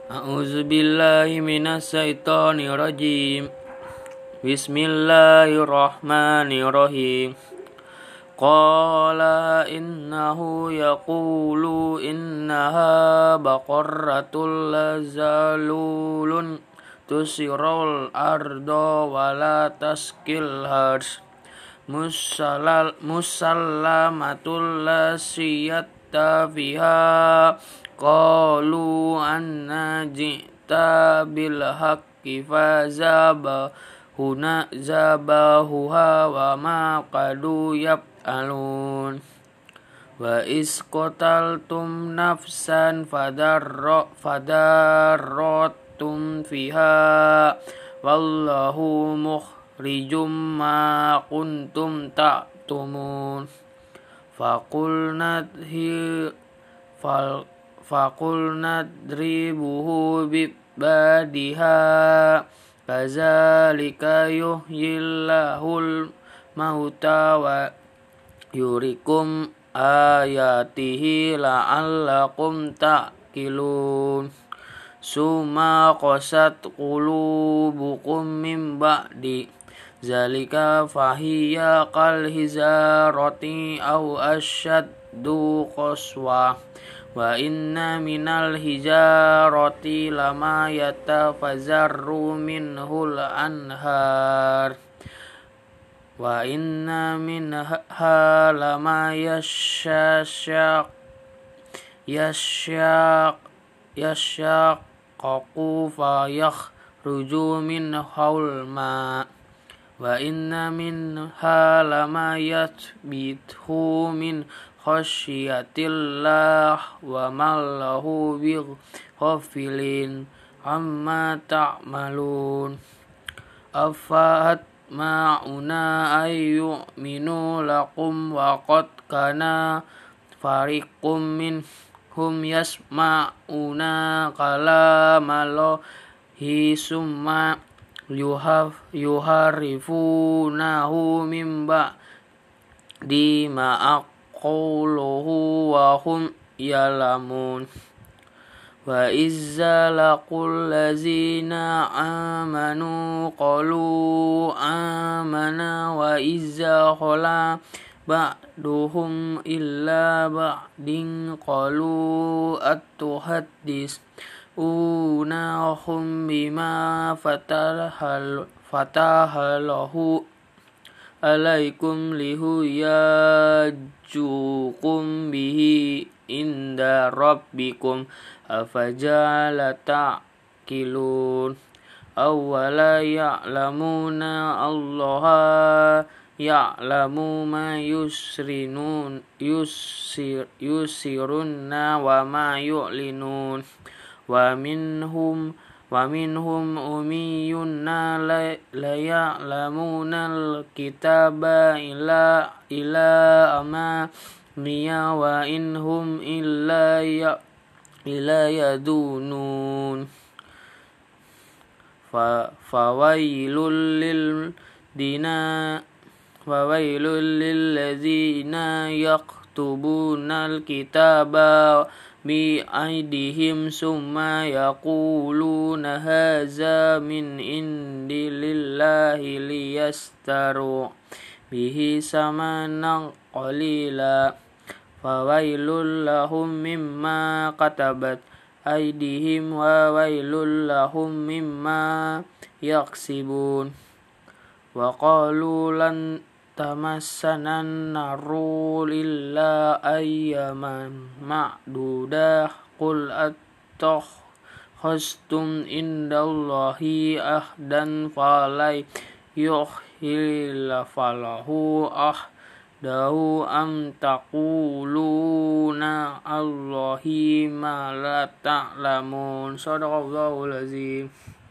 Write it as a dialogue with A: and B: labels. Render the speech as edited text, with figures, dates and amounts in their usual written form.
A: A'udzubillahi minasyaitonirrajim. Bismillahirrahmanirrahim. Qala innahu yaqulu innaha baqarratul lazalulun tusirul ardo wala taskil hars musallamatul lasiyata fiha qalu anna ji'ta bil haqqi zabahuha wa ma qadu yaf'alun wa is qataltum nafsan fadarratum fiha wallahu mukhrijum ma kuntum ta'tumun Faqulna dribuhu bibadiha kazalika yuhyillahul mauta wa yurikum ayatihi la'allakum ta'qilun. Summa qasat qulubukum min ba'di zalika fahiya kal hizarati aw asyaddu qaswa wa inna minal hijarati lama yatafazarru minhul anhar wa inna minha lama yashaqqaqu fa yakhruju minhul ma wa inna minha lama yathbithu min khasyiatillah wa mallahu bighafilin amma ta'malun. Afahat ma'una ayyuminu lakum wa qad kana fariqum minhum yasma'una kalamallahi summa yuharifunahu min ba'di ma qawluhu wa hum ya'lamun. Wa izza laqul lazina amanu qalu amana wa izza khala ba'duhum illa ba'din qalu atuhaddithunahum bima fatahalahu alaikum lihuyajukum bihi inda rabbikum afaja'ala ta'qilun. Awwala ya'lamuna allaha ya'lamu ma yusirunna wa ma yu'linun wa minhum umiyunna la ya'lamuna al-kitaba ila amaniya wa inhum illa yadunun. Fawailul lil ladzina yaktubuna al-kitaba bi aidihim summa yaquluna haza min indillahi liyastaru bihi samanan qalila fawailul lahum mimma katabat aidihim wa wailul lahum mimma yaksibun. Wa qalu lan tamassanan naru illa ayyaman ma'dudah qul attakhastum indallahi ahdan falai yuhilla falahu ahdahu am taquluna allahi ma la ta'lamun. Shadaqallahul azim.